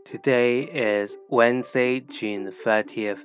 Today is Wednesday, June 30th,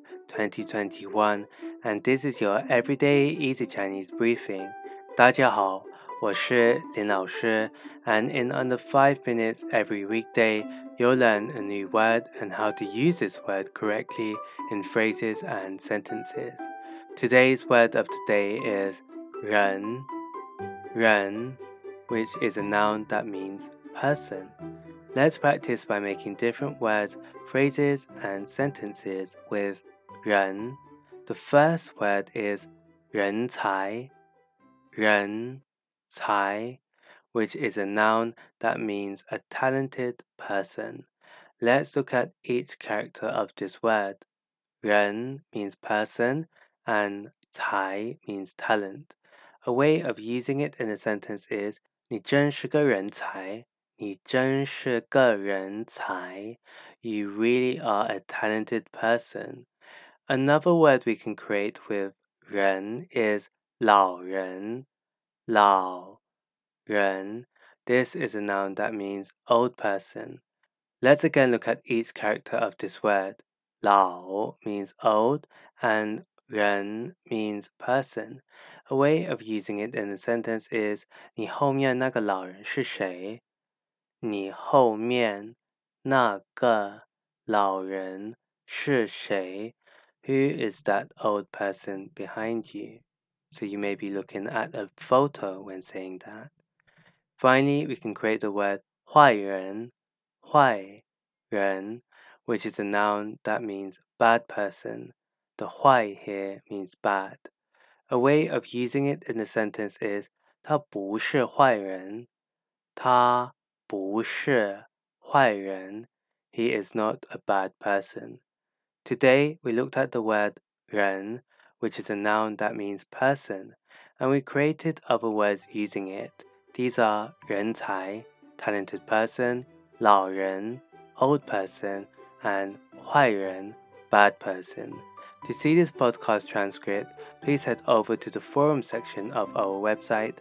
2021, and this is your Everyday Easy Chinese Briefing. 大家好，我是林老师, and in under 5 minutes every weekday, you'll learn a new word and how to use this word correctly in phrases and sentences. Today's word of the day is 人, 人, which is a noun that means person.Let's practice by making different words, phrases, and sentences with 人. The first word is 人才, 人才, which is a noun that means a talented person. Let's look at each character of this word. 人 means person and 才 means talent. A way of using it in a sentence is 你真是个人才。你真是个人才. You really are a talented person. Another word we can create with 人 is 老人, 老人. This is a noun that means old person. Let's again look at each character of this word. 老 means old and 人 means person. A way of using it in a sentence is 你后面那个老人是谁？你后面那个老人是谁？ Who is that old person behind you? So you may be looking at a photo when saying that. Finally, we can create the word 坏人, 坏人, which is a noun that means bad person. The 坏 here means bad. A way of using it in a sentence is 他不是坏人，他不是坏人. He is not a bad person. Today, we looked at the word 人, which is a noun that means person, and we created other words using it. These are 人才, talented person, 老人, old person, and 坏人, bad person. To see this podcast transcript, please head over to the forum section of our website,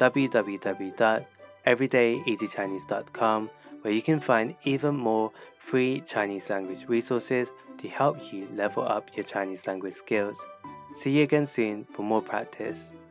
www.everydayeasychinese.com, where you can find even more free Chinese language resources to help you level up your Chinese language skills. See you again soon for more practice.